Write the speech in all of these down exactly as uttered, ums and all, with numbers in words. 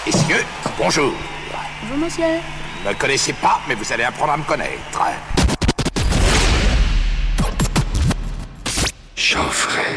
Messieurs, bonjour. Bonjour monsieur. Ne me connaissez pas, mais vous allez apprendre à me connaître. Geoffrey.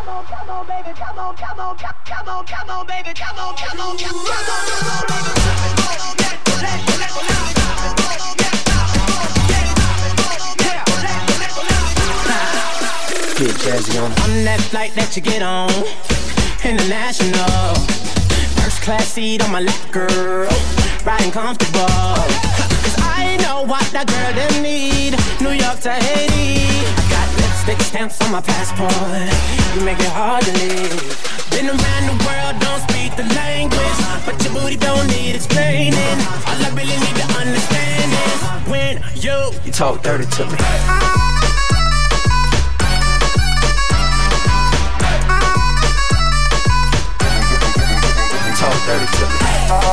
come on, come on, baby, come on, come on, come on, come on, baby, come on, come on, come on, come on, baby. Get jazzy on. On that flight that you get on, international, first class seat on my lap, girl, riding comfortable. Cause I know what that girl them need. New York to Haiti, I got lipstick stamps on my passport. You make it hard to leave. Been around the world, don't speak the language, but your booty don't need explaining. All I really need to understand is when you You talk dirty to me. Talk dirty to me.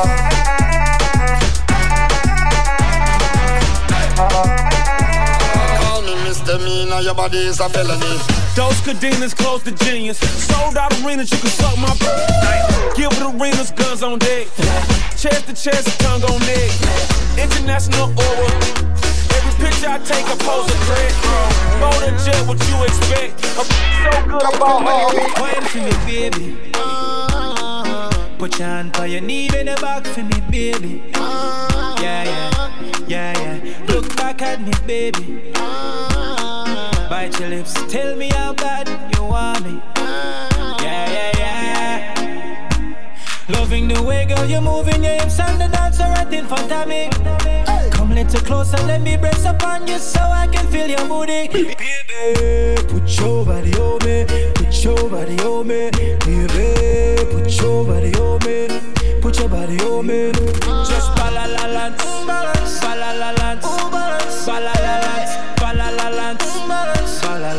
Call me misdemeanor, your body is a felony. Those cadenas close to genius. Sold out arenas, you can suck my Give it arenas, guns on deck. Chest to chest, tongue on neck. International aura. Every picture I take, I pose a dread. Bold and jet, what you expect? I'm so good about all. Wine for me, baby. Put your hand on your knee in the back for me, baby. Yeah, yeah, yeah, yeah. Look back at me, baby. Bite your lips, tell me how bad you want me. Yeah, yeah, yeah. Loving the way, girl, you're moving your hips and the dancer right in front of me. Come a little closer, let me brace up on you so I can feel your booty. Baby, put your body on me, put your body on me. Baby, put your body on me, put your body on me. Just balalalance, balalalance, balalalance, balalalance, balalalance,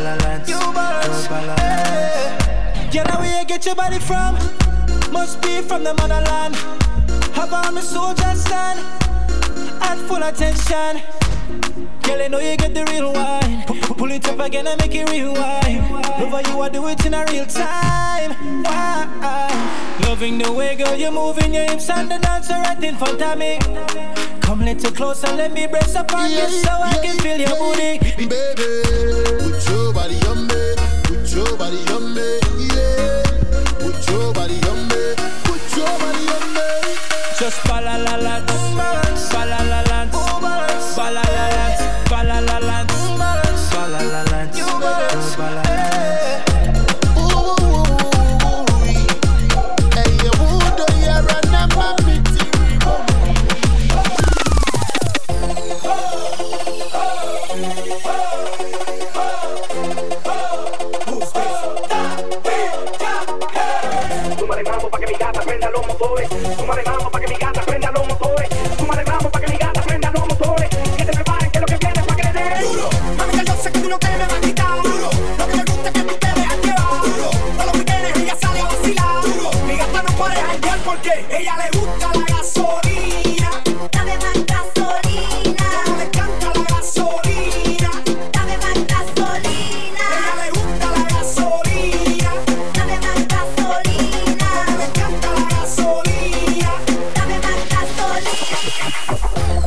balalalance. You know where you get your body from? Must be from the motherland. Have on the soldier stand at full attention. Girl, I know you get the real wine. P- pull it up again and make it rewind. Love how you are do it in a real time. Why? Loving the way, girl, you're moving your hips and the dancer right in front of me. Come a little closer, let me brace up on you so I can feel your booty. Baby, put your body on me, put your body on me, yeah. Put your body on me, put your body on me. Just balalalance, balalalance, balalalance, balalalance, balalalance, balalalance, balalalance. Ooh, hey, you would do you run up my pretty Súmale mambo pa' que mi gata prenda los motores. Súmale mambo pa' que mi gata prenda los motores. Súmale mambo pa' que mi gata prenda los motores. Que te preparen que lo que viene es pa' que le den duro. Mami, que yo sé que tú no te me vas a quitar duro. Lo que me gusta es que tú te dejas llevar duro. Todos los weekendes ella sale a vacilar duro. Mi gata no puede janguear porque ella le gusta la gasolina. Dame más gasolina. Le encanta la gasolina. Dame más gasolina. Ella le gusta la gasolina. Dame más gasolina. Le encanta la gasolina. Dame más gasolina.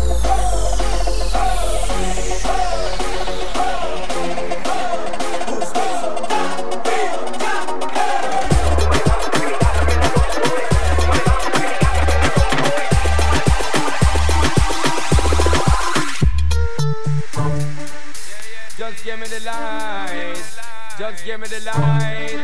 Just give me the light. Just give me the light.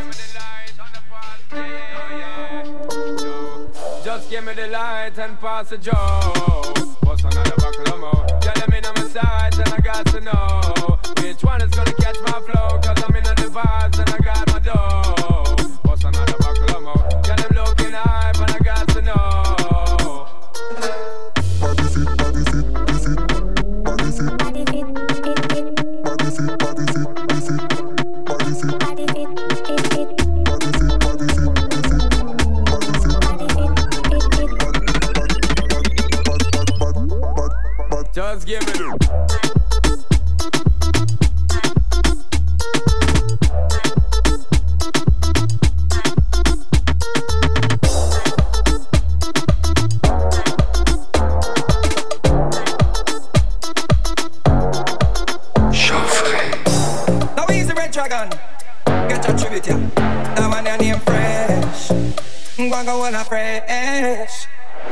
Just give me the light and pass the joke. What's another buckle of more? Tell them in on my sides and I got to know which one is gonna catch my flow. Cause I'm in on the vibes and I got my dough. What's another buckle of more? Tell them looking hype and I got to know. body fit, body fit, body fit, body fit, Body fit, fit, fit. body fit, body fit, body fit, body fit, Body fit, fit, fit. body fit, body fit, body fit, body fit, Body fit, fit, fit. Just give me the Now he's the red dragon. Get your tribute, yeah. that one your name fresh. Wanga wanna fresh.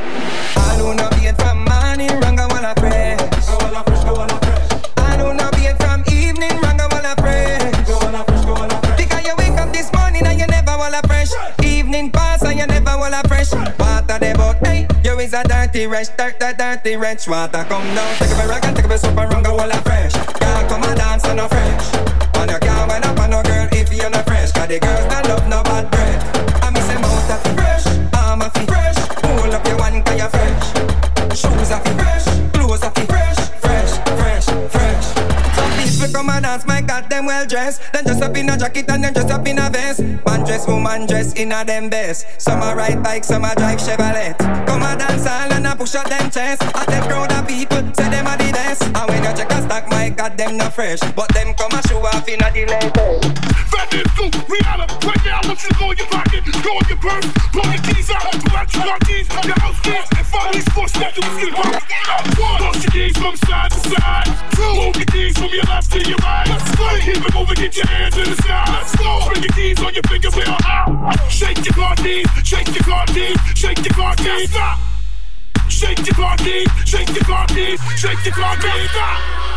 I do not be it from morning, Ranga wanna fresh. Go wanna fresh, go wanna fresh. I do not be it from evening, Ranga wanna fresh. Go wanna fresh, go wanna fresh. Because you wake up this morning and you never wanna fresh. Evening pass and you never wanna fresh. Water the boat, hey, you is a dirty wretch, dirt, dirt, dirty wretch. Water come down, take a rag and take a soap and Ranga wanna fresh. Can't come and dance and no fresh. And you can't wind up on no girl if you're not fresh. Cause the girls don't love no bad breath. I miss them out of the fresh, arm of the fresh. Pull up your one cause you're fresh. Shoes of the fresh, clothes of the fresh. Fresh, fresh, fresh. Some people come and dance, my God, them well dressed. Then just up in a jacket and then just up in a vest. Man dress, woman dress, in a them best. Some a ride bike, some a drive Chevrolet. Come and dance all and a push out them chest. At that crowd of people, say them a the best. And when you check a stack, my God, them not fresh. But them come and show off in a delay. Fat is cool, Rihanna, right now I want you to go in your pocket, go in your purse, pull your keys out, pull out your car keys, your house keys, and follow these four steps, you can get it right. One, toss your keys from side to side. Two, move your keys from your left to your right. Let's go. Keep it moving, get your hands in the sky. Let's go. Bring your keys on your fingers, well out. Shake your car keys, shake your car keys, shake your car keys, stop. Shake your car keys, shake your car keys, shake your car keys, stop.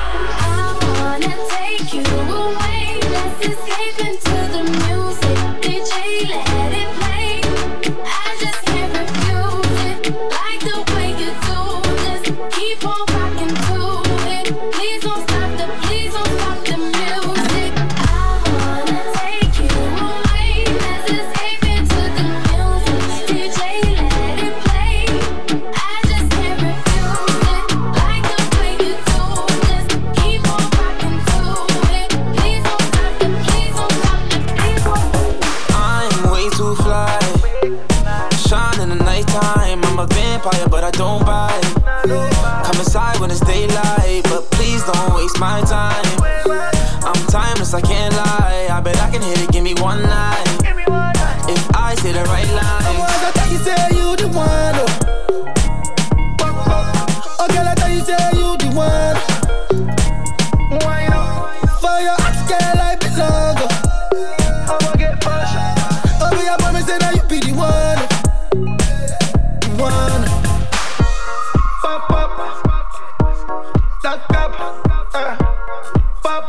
I wanna take you away. Let's escape into the music. D J, let it play. I just can't refuse it. Like the way you do this. Keep on rocking to it. Please don't stop the, please don't stop the music. I wanna take you away. Let's escape into the music. D J, let it play. I just can't refuse it. Like the way you do this. Keep on rocking to it. Please don't stop the, please don't stop the, please don't. I'm way too fly. Shine in the nighttime. I'm a vampire, but I don't bite. Come inside when it's daylight, but please don't waste my time. I'm timeless, I can't lie. I bet I can hit it, give me one night. If I say the right line. I thought you say you the one. Oh, girl, I thought you say you the one. For your ex, girl, I belong. Oh, me, I promise that you be the one. The one. Pop, pop. Lock up. Uh. Pop.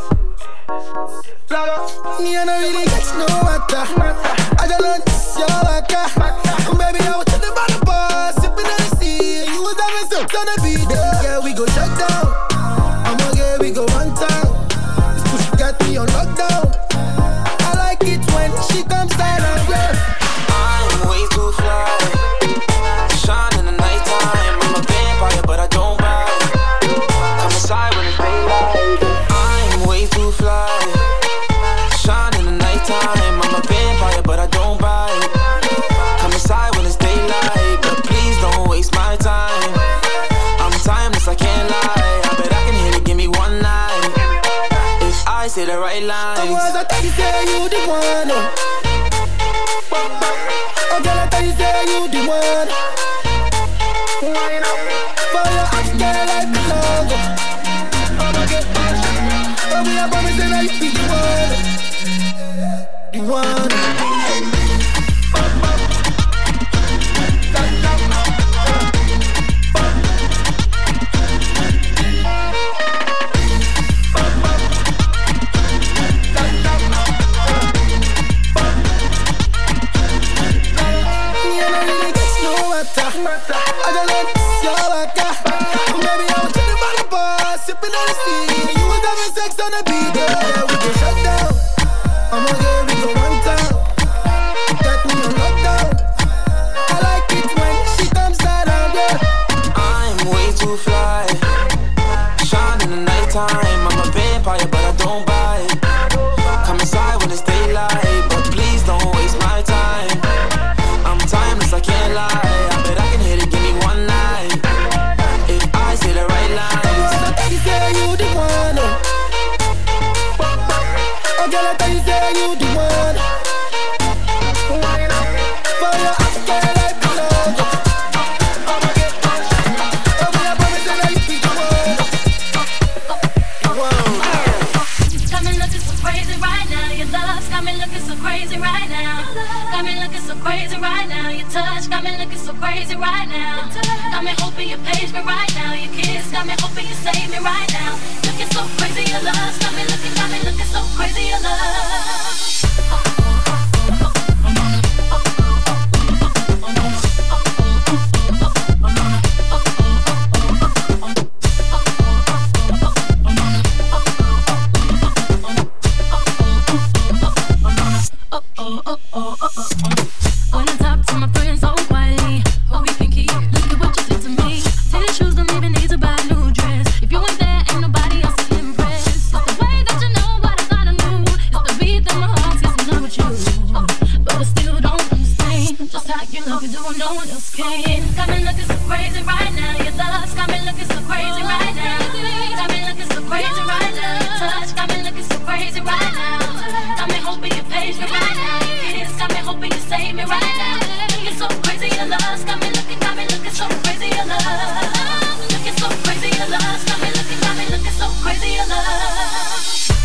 Lock up. Me, I don't really get no matter. I just learned this, your waka. Baby, I was chilling by the bar, sipping on the sea. You was having sex on the beat. Yeah, we go shut down. I'ma get, we go one time. This push got me on lockdown. I like it when she comes down and yeah. I'm way too fly. Shine in the nighttime. I'm a vampire, but I don't bite. Come inside when it's daylight. I'm way too fly. Shine in the nighttime. I'm a vampire, but I don't bite. Come inside when it's daylight, but please don't waste my time. I'm timeless, I can't lie. I bet I can hit it, give me one night. If I say the right lines. I thought you say you the one. Oh, girl, I thought you say you the one. For your ex, girl, I belong. Oh, me, I promise that you be the one. The one. I don't know this, your waka. Baby, I was chilling by the bar, sipping on the sea. You was having sex on the beat, yeah, we go shut down. I'ma get, we go one time. Got me on lockdown. I like it when she comes down, yeah. I'm way too fly. Shine in the nighttime. I'm a vampire, but I don't bite. Come inside when it's daylight, but please don't waste my time. I'm timeless, I can't lie. You the one. For your ex, girl, I belong. I'ma get pushed. Oh, me, I promise that I be the one. The one. Coming up just so crazy right now. Your love's got got me looking so crazy right now. Got me looking so crazy right now. Your touch got me looking so crazy right now. Got me hoping you page me right now. Your kiss got me hoping you save me right now. Looking so crazy, your love got me looking, got me looking so crazy, your love. When I talk to my friends so quietly, oh, you think he look at what you did to me. Tennis shoes don't even need to buy a new dress. If you ain't there, ain't nobody else to impress. It's the way that you know what I thought I knew. It's the beat that my heart gets in love with you. But I still don't understand just how you love it, doing no one else can. Got me looking so crazy right now. Your love's got me looking so crazy right now. Got me looking so crazy right now. Your touch got me looking so crazy right now. Got me hoping you page me right now. Got me hoping you save me right now. Looking so crazy, your love got me looking, got me looking so crazy, your love. Looking so crazy, your love got me looking, got me looking so crazy, your love.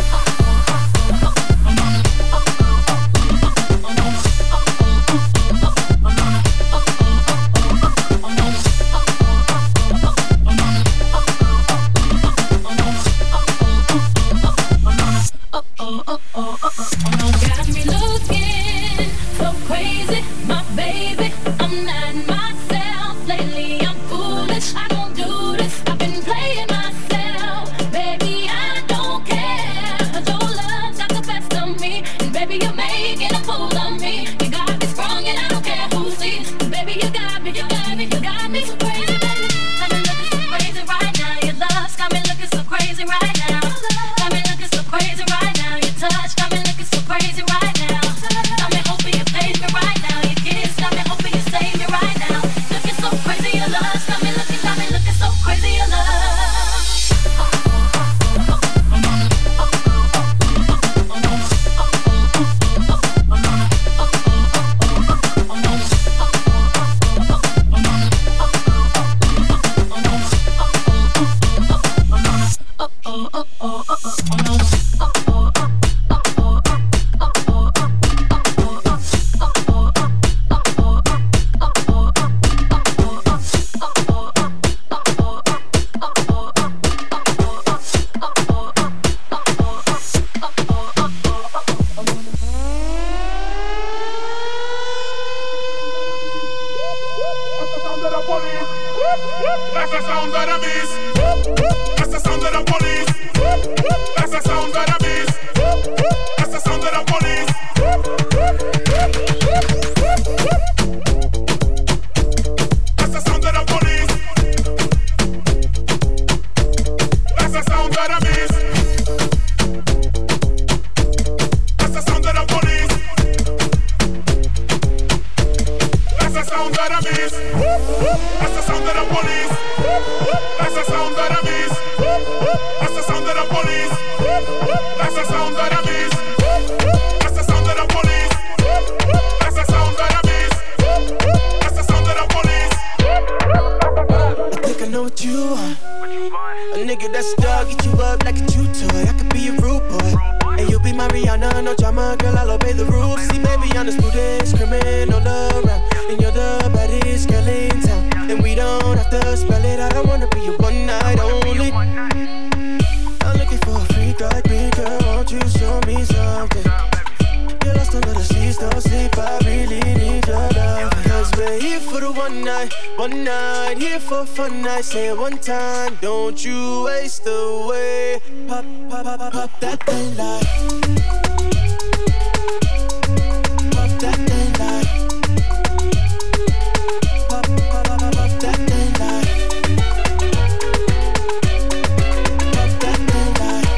Oh, oh, oh, oh, oh, got me looking so crazy, my baby. I'm not myself lately. I'm foolish. I don't do this. I've been playing myself, baby. I don't care. 'Cause your love got the best of me, and baby, you're making a fool of me. You got me sprung, and I don't care who sees. Baby, you got me, you got me, you got me so crazy, baby. Got me looking so crazy right now. Your love's got me looking so crazy right now. Got me looking so crazy right now. Your touch got me looking so crazy right now. Got me hoping you page me right now. Your kiss got me hoping you save me right now. Looking so crazy, your love got me looking, got me looking so crazy, your love. That's the sound of the beast. That's the sound of the police. That's the sound of the beast. That's the sound of the police. That's the sound of the police. That's the sound of the beast. That's the sound of the police. That's the sound of the beast. That's the sound of the police. That's the sound of the beast. That's the sound of the police. That's the sound of the beast. That's the sound of the police. That's the sound of the beast. That's the sound of the police. I think I know what you want. A nigga that's dog, get you up like a chew toy. I could be a rude boy, and you be my Rihanna, no drama, girl, I'll obey the rules. See, baby, I'm the smoothest criminal around, and you're the baddest girl in town. And we don't have to spell it out, I wanna be your one night only. I'm looking for a freak like me, girl, won't you show me something? You're lost under the sheets, don't sleep, I really need your love. Cause we're here for the one night, one night, here for fun night. Say it one time, don't you waste away. Pop, pop, pop, pop, pop that thing like. Pop that thing like. Pop, pop, pop, pop, pop that thing like. Pop that thing like.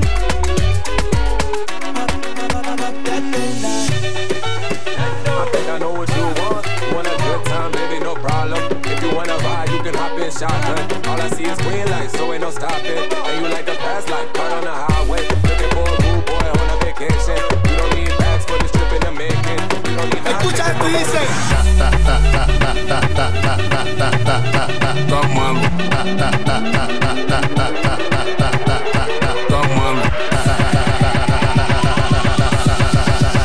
Pop, pop, pop, pop that thing like. I think I know what you want. You want a good time, baby, no problem. If you wanna ride, you can hop in shotgun. All I see is green lights, so ain't no stopping. And you like the fast life, caught on the highway. Looking for a rude boy on a vacation. You don't need bags for this trip in the making. You don't need Escucha esto y dice. Come on. Come on.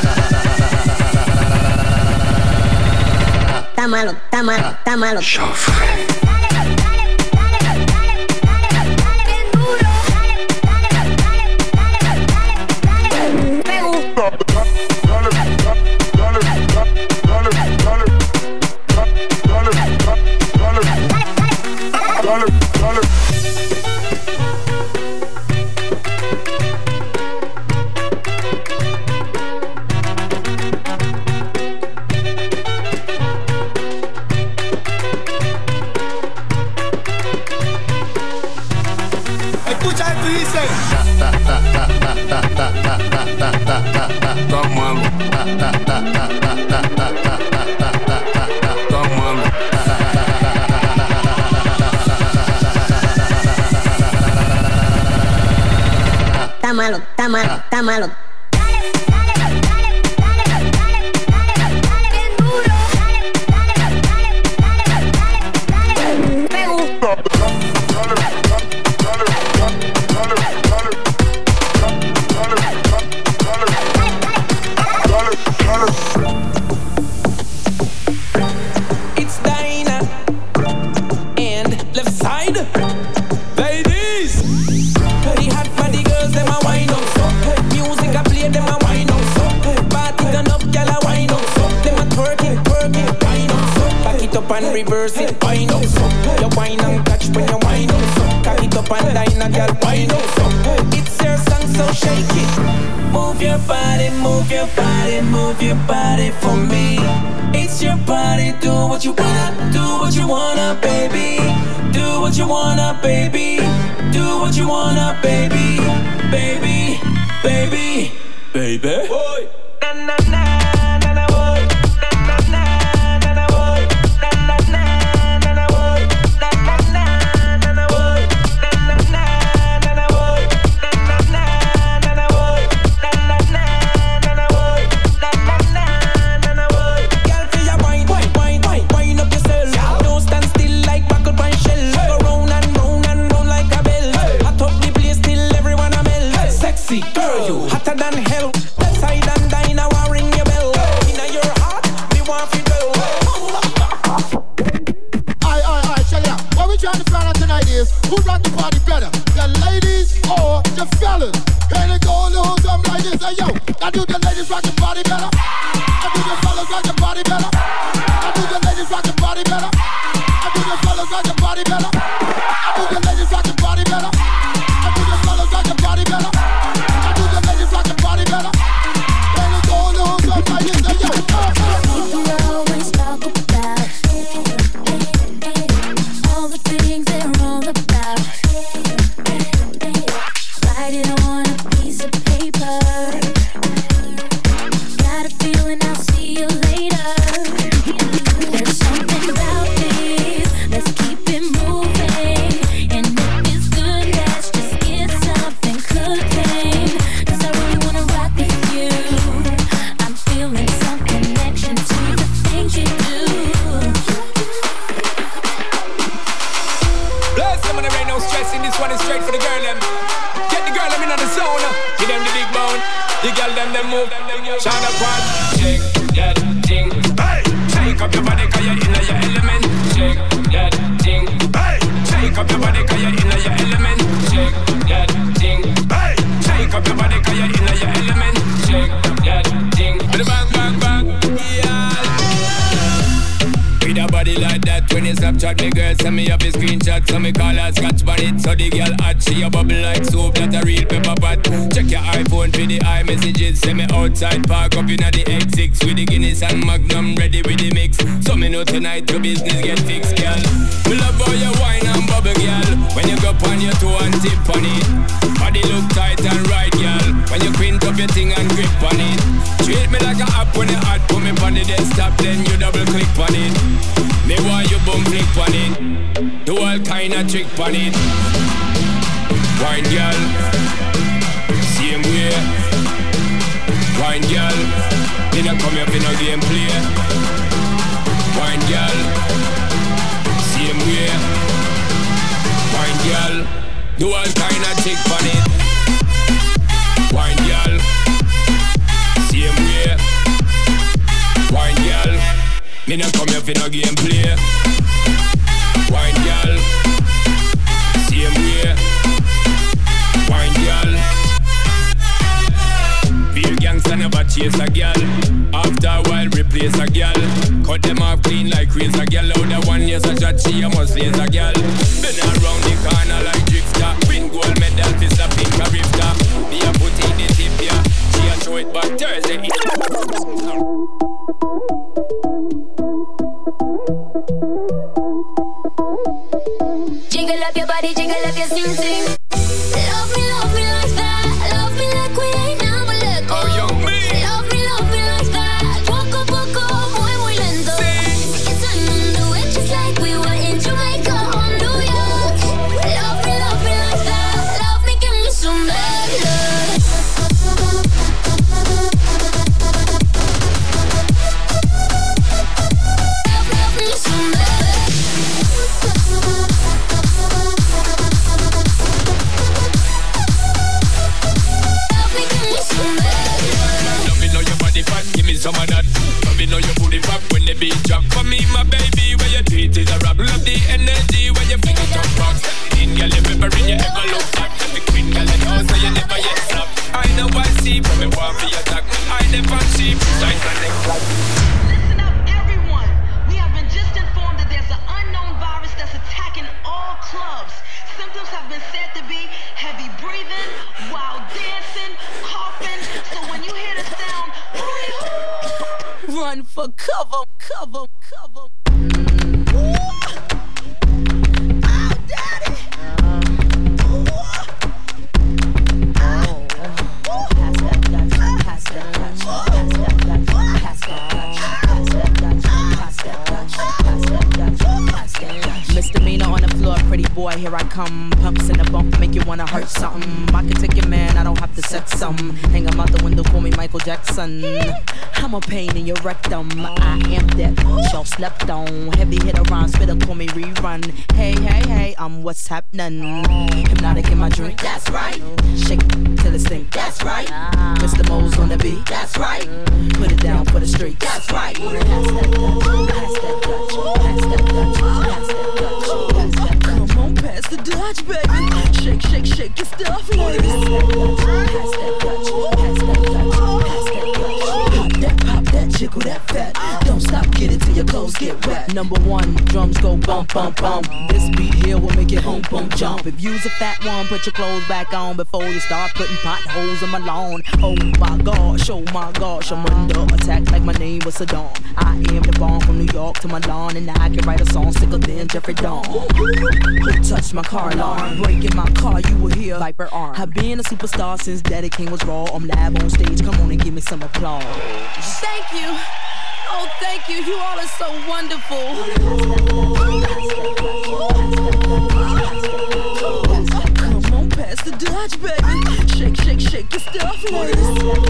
malo, está malo, está malo. Joffrey. Está malo, está malo, está malo. It's Dinah and left side. Ladies, pretty hot body girls, them a wine up so. Music I play, them a wine up so. Party turn up, gyal a wine up so. Them a twerking, twerking, wine up so. Back it up and reverse it, wine up so. You wine and catch when you wine up so. Cock it up and Dinah, gyal wine up so. It's your song, so shake it. Move your body, move your body, move your body for me. It's your body, do what you wanna, do what you wanna, baby. Do what you wanna, baby. Do what you wanna, baby. Baby, baby, baby. Boy. Na na na na na boy. Na na na na na boy. Na na na na na boy. Na na na na na boy. Na na na na na boy. Na na na na na boy. Na na na na na boy. Na na na na na boy. Girl, feel your wine, wine, wine, wine, wine up yourself. Don't stand still like buckle pine shell. Go round and round and round like a bell. Hot up the place till everyone a melt. Sexy girl, you hotter than hell. Left side and Dinah want ring your bell. Inna your heart, me want fi dwell. Aye, aye, aye, check it out. What we trying to find out tonight is who rock the party better, the ladies or the fellas? Here they go, the whole time like this. Hey yo, I do the ladies rock the party better. I do the fellas rock the party better. I do the ladies rock the party better. I do the fellas rock the party better. I do the ladies rock the party better. I do the fellas rock the party better. I do the ladies rock the party better. Here they go, the whole time like this. Hey yo, uh, uh, uh. You always talk about all the things they're all about. Write it on a piece of paper. Got a feeling I'll see you later. There's something about this. Let's keep it moving. And if it's good, let's just get something cooking. 'Cause I really wanna rock with you. I'm feeling some connection to the things you do. Bless them and there ain't no stressing. This one is straight for the girl them. Get the girl them in on the zone. Give them the big bone. The girl them them move. Shine up one. Shake that thing. Hey. Shake up your body 'cause you're in your element. Shake that thing. Hey. Shake up your body 'cause you're in your element. Shake that thing. Hey. Shake up your body 'cause you're in your element. Shake that thing. Bang bang bang. Yeah. With a body like that, when you Snapchat me girl, send me up a screenshot. So me call her scotch bonnet. So the girl hot, she a bubble like soap, that a real pepper pot. Check your iPhone for the iMessages. Send me outside, park up inna the X six with the Guinness and Magnum ready with the mix. So me know tonight your business get fixed, girl. Me love how you wine and bubble, girl. When you go on your toe and tip on it, body look tight and right, girl. When you quint up your thing and grip on it, treat me like a app when you hot. Put me on the desktop, then you double click on it. Me want you boom flick on it. Do all kind of trick on it. Wine girl, same way. Wine girl, didn't come here for no game play. Wine girl, same way. Wine girl, do all kind of trick on it. Wine girl, same way. Wine girl. Me Me no come here for no gameplay. Wine girl, same way. Wine girl. Real gangsta never chase a girl. After a while replace a girl. Cut them off clean like razor girl. Out the one years a judge, she a must laser girl. Been around the corner like drifter. Win gold medal, fist a pink a rifter. Me a put in the tip here. She a show it back Thursday. Jiggle up your body, jiggle up your sing sing. Love me, love me like that. Love me like we ain't never let go. Oh, young me. Love me, love me like that. Poco, poco, muy, muy lento. It's time to do it just like we were in Jamaica or New York. Love me, love me like that. Love me, give me some bad love. Love, love me some bad. Some of that. Love you know your booty pop when the beat drop. For me, my baby, where your tweet is a rap. Love the energy when you fling it up rock. In girl, you remembering you ever look back. The queen girl, you know, so you never yet stop. I know I see from me want for your attack. I never see like the next like. Listen up, everyone. We have been just informed that there's an unknown virus that's attacking all clubs. Symptoms have been said to be heavy breathing, wild dancing, coughing. So when you hear the sound, run for cover, cover, cover. Ooh. Oh, daddy. Ooh. Oh. Pass that Dutch, pass that Dutch, pass that Dutch, pass that Dutch, pass that Dutch, pass that Dutch, pass that Dutch, pass that Dutch. Misdemeanor on the floor, pretty boy, here I come. Pumps in the bump, make you wanna hurt something. I can take your man, I don't have to set some. Hang him out the window, call me Michael Jackson. I'm a pain in your rectum. I am that y'all slept on. Heavy hit around, spitter, call me rerun. Hey, hey, hey, I'm what's happening. Hypnotic in my drink, that's right. Shake it till it stink, that's right. Mister Mo's on the beat, that's right. Put it down for the street, that's right. Pass that Dutch, pass that Dutch, pass that Dutch, pass that Dutch, pass that Dutch. Come on, pass the Dutch, baby. Shake, shake, shake your stuff, ladies. Pass that Dutch, pass that Dutch, pass that Dutch. That pop, that jiggle, that fat. Don't stop, get it till your clothes get wet. Number one, drums go bump, bump, bump. This beat here will make it home, boom, jump. If you's a fat one, put your clothes back on before you start putting potholes in my lawn. Oh my gosh, oh my gosh, I'm under attack like my name was Saddam. I am the bomb from New York to Milan, and I can write a song sicker than Jeffrey Dawn. Who touched my car alarm? Breaking my car, you will hear Viper arm. I've been a superstar since Daddy King was raw. I'm live on stage, come on and give me some applause. Thank you. Oh, thank you. You all are so wonderful. Come on, pass the Dutch, baby. Shake, shake, shake your stuff, ladies.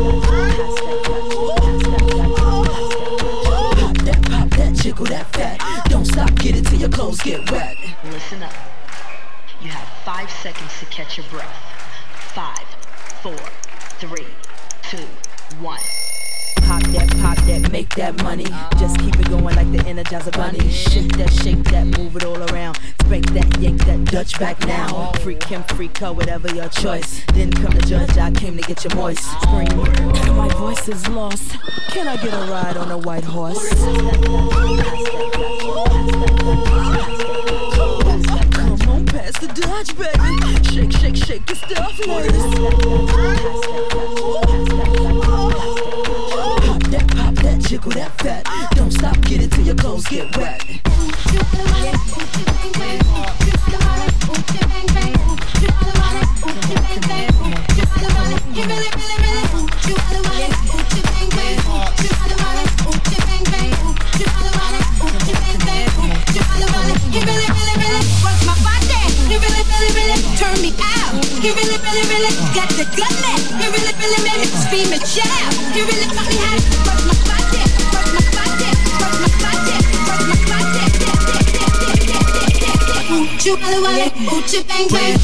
Pop that, pop that, jiggle that fat. Don't stop, get it till your clothes get wet. listen up. You have five seconds to catch your breath. Five, four, three, two, one. Pop that, pop that, make that money. Just keep it going like the Energizer Bunny. Shake that, shake that, move it all around. Spank that, yank that, Dutch back now. Freak him, freak her, whatever your choice. Didn't come to judge, I came to get you moist. Scream, my voice is lost. Can I get a ride on a white horse? Come on, pass the Dutch, baby. Shake, shake, shake your stuff, ladies. Pop that, pop that, jiggle that fat. Don't stop, get it till your clothes get wet. Turn me out. He really, really, really got the gutlet. He really, really, really scream and shout. He really taught me how to work my body, work my body, work my body, work my body. Ooh, choo, wale, wale, ooh, choo, bang, bang.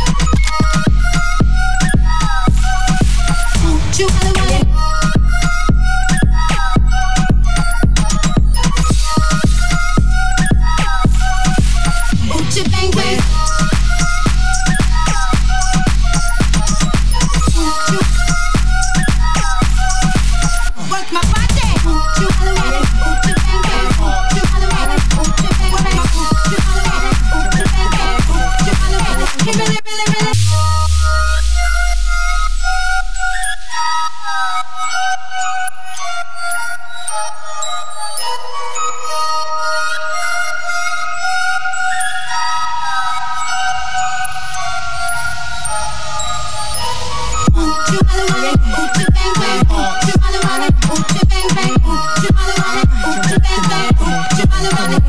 Ooh, choo, wale, wale.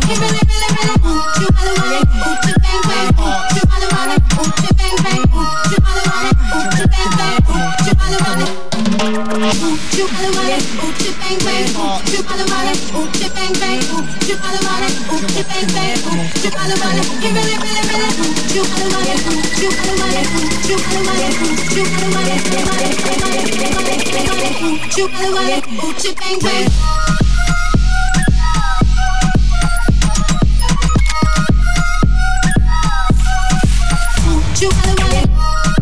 You really, really, really want you wanna want it, want you bang bang, you wanna want it, want you bang bang, you wanna want it, want you bang bang, you wanna want it, you wanna want it, want you bang bang, you wanna want it, want you bang bang, you wanna want it, want you bang bang, you wanna want it. You really, really, really want you wanna want it, you wanna want it, you wanna want it, you wanna want it, you wanna want it, you wanna want it, you wanna want it, you wanna want it, want you bang bang. You wanna want it.